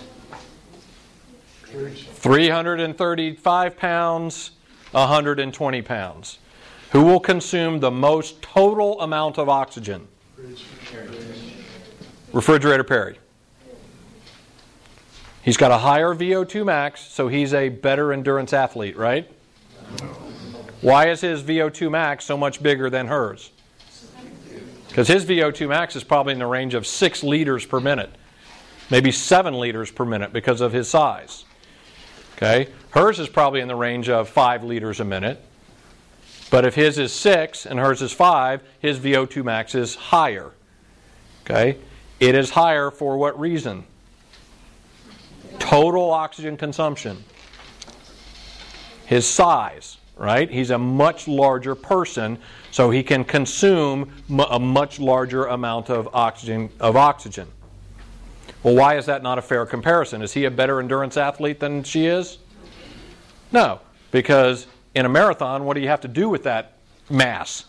335 pounds, 120 pounds. Who will consume the most total amount of oxygen? Refrigerator Perry. He's got a higher VO2 max, so he's a better endurance athlete, right? Why is his VO2 max so much bigger than hers? Because his VO2 max is probably in the range of 6 liters per minute, maybe 7 liters per minute because of his size. Okay? Hers is probably in the range of 5 liters a minute. But if his is 6 and hers is 5, his VO2 max is higher. Okay? It is higher for what reason? Total oxygen consumption. His size, right? He's a much larger person, so he can consume a much larger amount of oxygen. Well, why is that not a fair comparison? Is he a better endurance athlete than she is? No, because in a marathon, what do you have to do with that mass?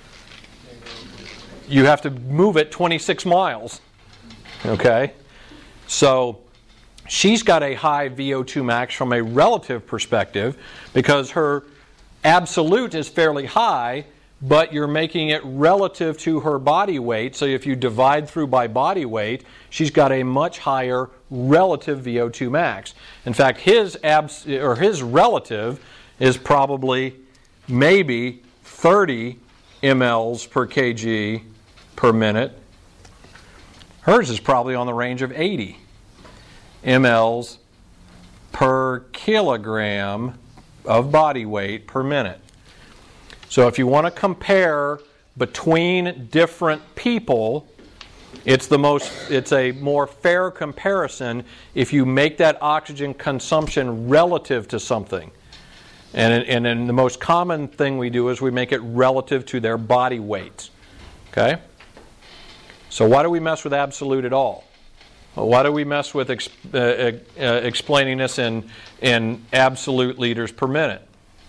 You have to move it 26 miles. Okay? So she's got a high VO2 max from a relative perspective because her absolute is fairly high, but you're making it relative to her body weight. So if you divide through by body weight, she's got a much higher relative VO2 max. In fact, his relative is probably maybe 30 mLs per kg per minute. Hers is probably on the range of 80 mLs per kilogram of body weight per minute. So if you want to compare between different people, it's a more fair comparison if you make that oxygen consumption relative to something. And then the most common thing we do is we make it relative to their body weight. Okay? So why do we mess with absolute at all? Well, why do we mess with explaining this in absolute liters per minute?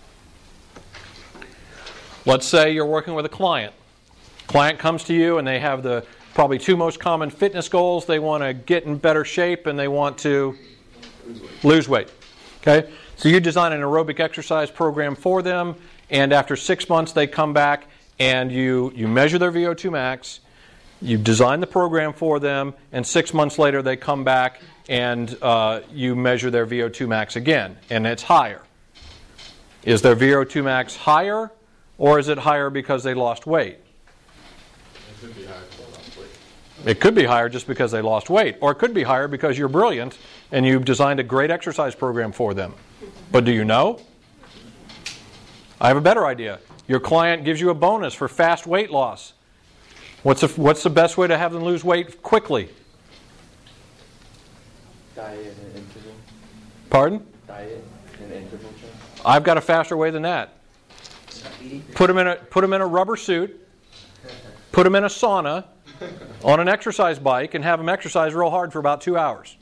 Let's say you're working with a client. Client comes to you and they have the probably 2 most common fitness goals. They want to get in better shape and they want to lose weight. Okay? So you design an aerobic exercise program for them, and after 6 months they come back and you measure their VO2 max, you design the program for them, and 6 months later they come back and you measure their VO2 max again, and it's higher. Is their VO2 max higher, or is it higher because they lost weight? It could be higher because they lost weight. It could be higher just because they lost weight, or it could be higher because you're brilliant and you've designed a great exercise program for them. But do you know? I have a better idea. Your client gives you a bonus for fast weight loss. What's the best way to have them lose weight quickly? Diet and interval. Pardon? Diet and interval change. I've got a faster way than that. Put them in a rubber suit, put them in a sauna, on an exercise bike, and have them exercise real hard for about 2 hours.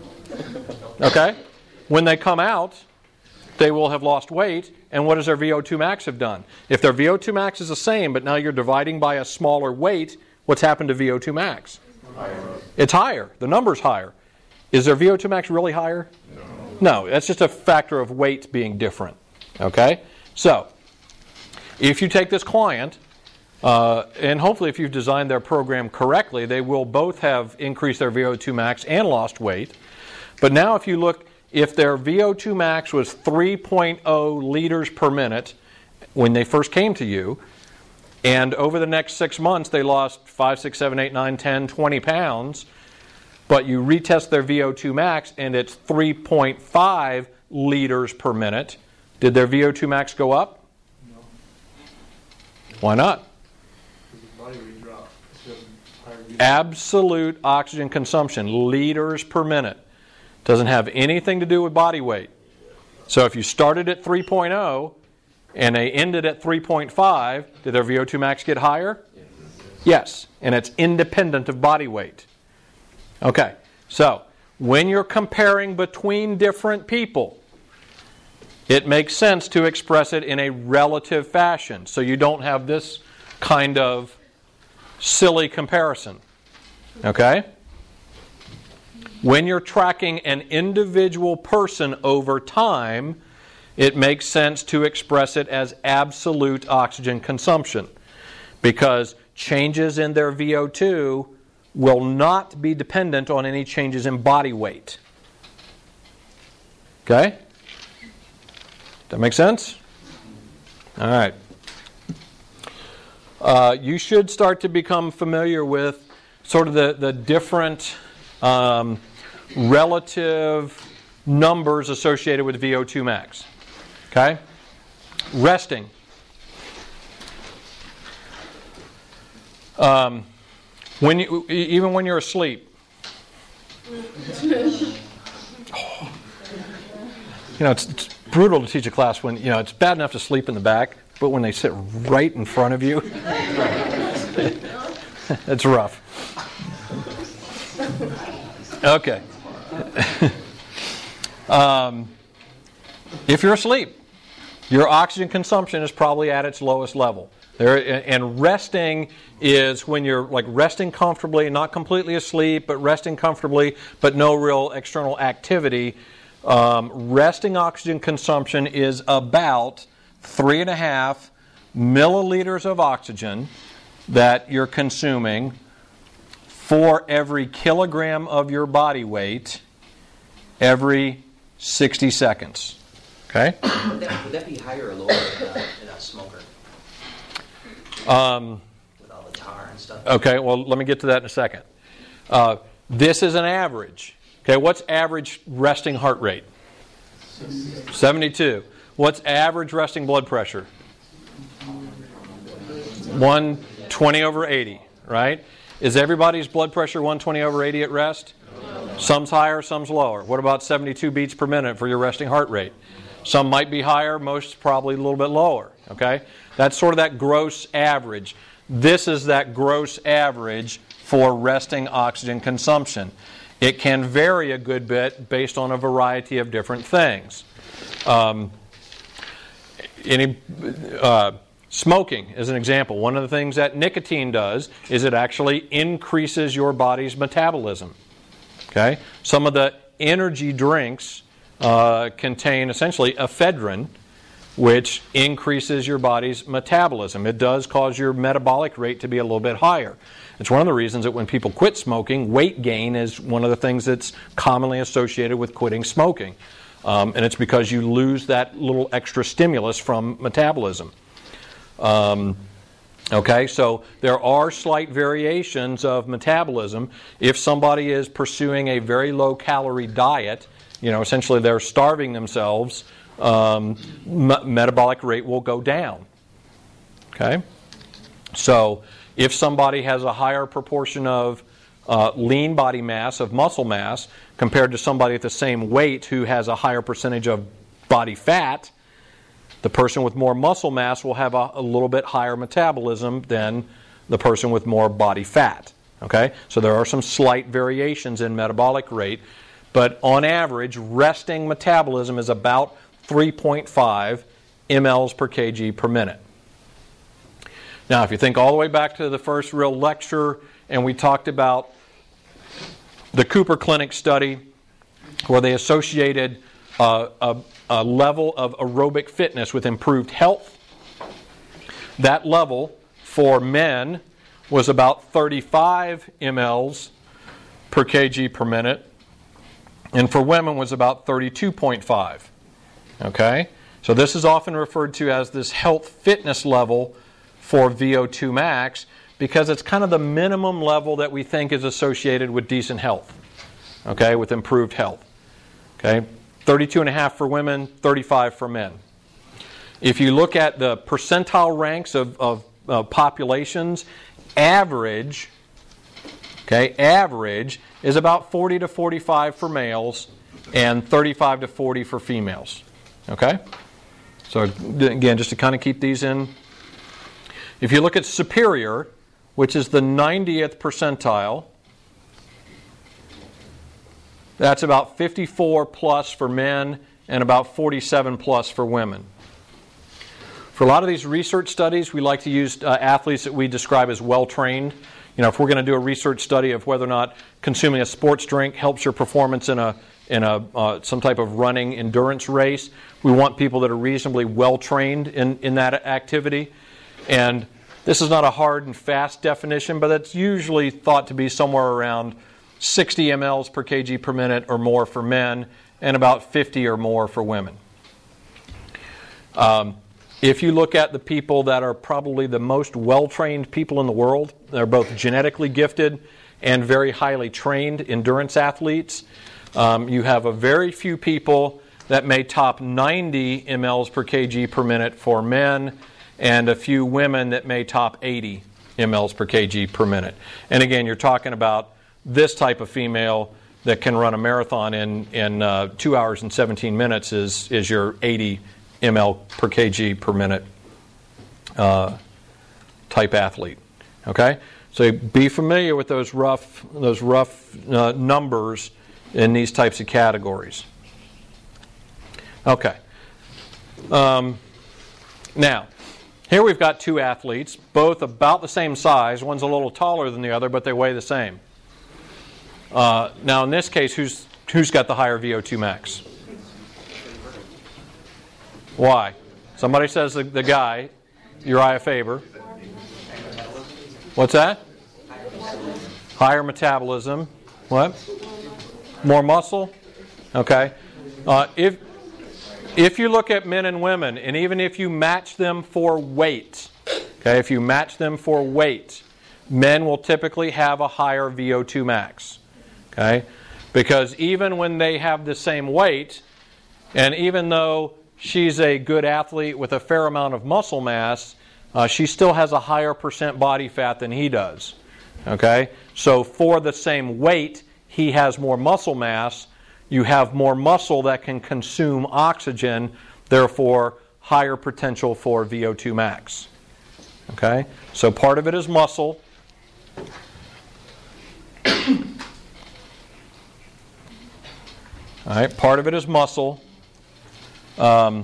Okay? When they come out, they will have lost weight, and what does their VO2 max have done? If their VO2 max is the same, but now you're dividing by a smaller weight, what's happened to VO2 max? Higher. It's higher. The number's higher. Is their VO2 max really higher? No, that's just a factor of weight being different. Okay? So, if you take this client, and hopefully if you've designed their program correctly, they will both have increased their VO2 max and lost weight. But now if you look, if their VO2 max was 3.0 liters per minute when they first came to you, and over the next 6 months they lost 5, 6, 7, 8, 9, 10, 20 pounds, but you retest their VO2 max and it's 3.5 liters per minute, did their VO2 max go up? No. Why not? Because the body weight dropped. Absolute oxygen consumption, liters per minute. Doesn't have anything to do with body weight. So if you started at 3.0 and they ended at 3.5, did their VO2 max get higher? Yes, and it's independent of body weight. Okay, so when you're comparing between different people, it makes sense to express it in a relative fashion, so you don't have this kind of silly comparison. Okay? When you're tracking an individual person over time, it makes sense to express it as absolute oxygen consumption, because changes in their VO2 will not be dependent on any changes in body weight. Okay? That make sense? All right. You should start to become familiar with sort of the different relative numbers associated with VO2 max. Okay? Resting. Even when you're asleep. It's brutal to teach a class when, it's bad enough to sleep in the back, but when they sit right in front of you, it's rough. Okay. If you're asleep, your oxygen consumption is probably at its lowest level. And resting is when you're resting comfortably, not completely asleep, but resting comfortably, but no real external activity. Resting oxygen consumption is about 3.5 milliliters of oxygen that you're consuming for every kilogram of your body weight every 60 seconds. Okay? Would that be higher or lower in a smoker? With all the tar and stuff? Okay, well, let me get to that in a second. This is an average. Okay, what's average resting heart rate? 72. What's average resting blood pressure? 120/80, right? Is everybody's blood pressure 120/80 at rest? No. Some's higher, some's lower. What about 72 beats per minute for your resting heart rate? Some might be higher, most probably a little bit lower. Okay? That's sort of that gross average. This is that gross average for resting oxygen consumption. It can vary a good bit based on a variety of different things. Smoking is an example. One of the things that nicotine does is it actually increases your body's metabolism. Okay? Some of the energy drinks contain essentially ephedrine, which increases your body's metabolism. It does cause your metabolic rate to be a little bit higher. It's one of the reasons that when people quit smoking, weight gain is one of the things that's commonly associated with quitting smoking. And it's because you lose that little extra stimulus from metabolism. Okay, so there are slight variations of metabolism. If somebody is pursuing a very low-calorie diet, essentially they're starving themselves, metabolic rate will go down. Okay? So if somebody has a higher proportion of lean body mass, of muscle mass, compared to somebody at the same weight who has a higher percentage of body fat, the person with more muscle mass will have a little bit higher metabolism than the person with more body fat. Okay? So there are some slight variations in metabolic rate, but on average, resting metabolism is about 3.5 mLs per kg per minute. Now, if you think all the way back to the first real lecture, and we talked about the Cooper Clinic study where they associated a level of aerobic fitness with improved health. That level for men was about 35 mLs per kg per minute, and for women was about 32.5. Okay? So this is often referred to as this health fitness level for VO2 max because it's kind of the minimum level that we think is associated with decent health. Okay? With improved health. Okay? 32.5 for women, 35 for men. If you look at the percentile ranks of populations, average is about 40 to 45 for males and 35 to 40 for females. Okay? So again, just to kind of keep these in. If you look at superior, which is the 90th percentile, that's about 54 plus for men and about 47 plus for women. For a lot of these research studies, we like to use athletes that we describe as well-trained. If we're going to do a research study of whether or not consuming a sports drink helps your performance in some type of running endurance race, we want people that are reasonably well-trained in that activity. And this is not a hard and fast definition, but it's usually thought to be somewhere around 60 mLs per kg per minute or more for men, and about 50 or more for women. If you look at the people that are probably the most well-trained people in the world, they're both genetically gifted and very highly trained endurance athletes. You have a very few people that may top 90 mLs per kg per minute for men, and a few women that may top 80 mLs per kg per minute. And again, you're talking about this type of female that can run a marathon in 2 hours and 17 minutes is your 80 ml per kg per minute type athlete. Okay, so be familiar with those rough numbers in these types of categories. Okay. Now, here we've got two athletes, both about the same size. One's a little taller than the other, but they weigh the same. Now, in this case, who's got the higher VO2 max? Why? Somebody says the guy, Uriah Faber. What's that? Higher metabolism. What? More muscle? Okay. If you look at men and women, and even if you match them for weight, okay, if you match them for weight, men will typically have a higher VO2 max. Okay? Because even when they have the same weight, and even though she's a good athlete with a fair amount of muscle mass, she still has a higher percent body fat than he does. Okay? So for the same weight, he has more muscle mass. You have more muscle that can consume oxygen, therefore higher potential for VO2 max. Okay? So part of it is muscle. All right, part of it is muscle. Part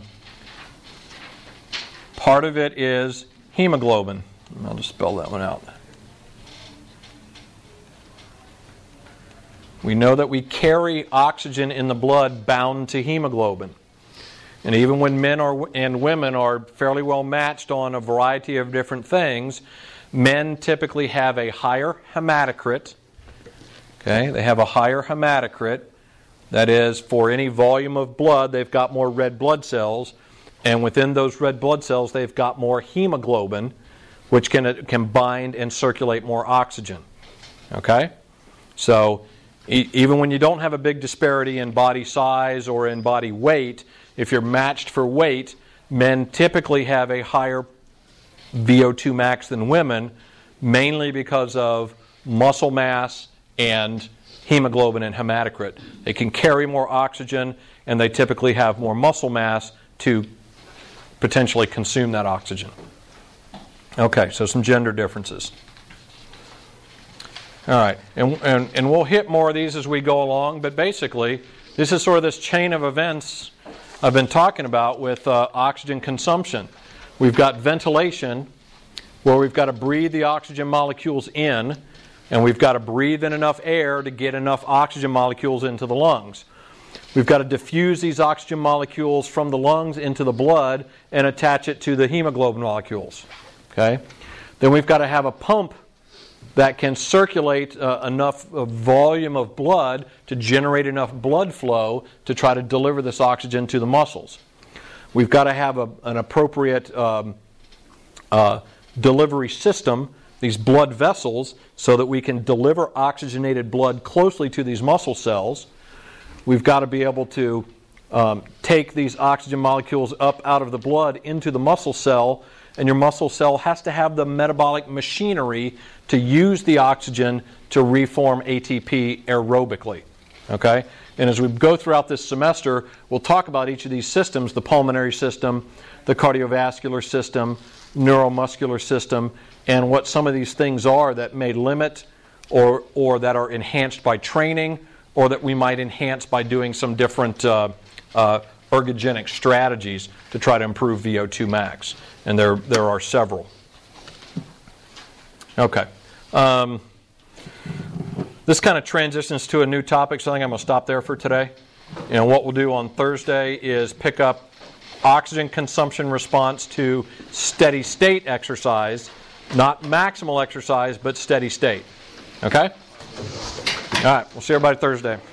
of it is hemoglobin. I'll just spell that one out. We know that we carry oxygen in the blood bound to hemoglobin. And even when men and women are fairly well matched on a variety of different things, men typically have a higher hematocrit. Okay, they have a higher hematocrit. That is, for any volume of blood, they've got more red blood cells. And within those red blood cells, they've got more hemoglobin, which can bind and circulate more oxygen. Okay? So, even when you don't have a big disparity in body size or in body weight, if you're matched for weight, men typically have a higher VO2 max than women, mainly because of muscle mass and hemoglobin and hematocrit. They can carry more oxygen, and they typically have more muscle mass to potentially consume that oxygen. Okay, so some gender differences. All right, and we'll hit more of these as we go along, but basically, this is sort of this chain of events I've been talking about with oxygen consumption. We've got ventilation, where we've got to breathe the oxygen molecules in, and we've got to breathe in enough air to get enough oxygen molecules into the lungs. We've got to diffuse these oxygen molecules from the lungs into the blood and attach it to the hemoglobin molecules. Okay? Then we've got to have a pump that can circulate enough volume of blood to generate enough blood flow to try to deliver this oxygen to the muscles. We've got to have an appropriate delivery system, these blood vessels, so that we can deliver oxygenated blood closely to these muscle cells. We've got to be able to take these oxygen molecules up out of the blood into the muscle cell, and your muscle cell has to have the metabolic machinery to use the oxygen to reform ATP aerobically. Okay? And as we go throughout this semester, we'll talk about each of these systems, the pulmonary system, the cardiovascular system, neuromuscular system, and what some of these things are that may limit or that are enhanced by training, or that we might enhance by doing some different ergogenic strategies to try to improve VO2 max. And there are several. Okay. This kind of transitions to a new topic, so I think I'm going to stop there for today. And what we'll do on Thursday is pick up oxygen consumption response to steady state exercise, not maximal exercise, but steady state. Okay? All right, we'll see everybody Thursday.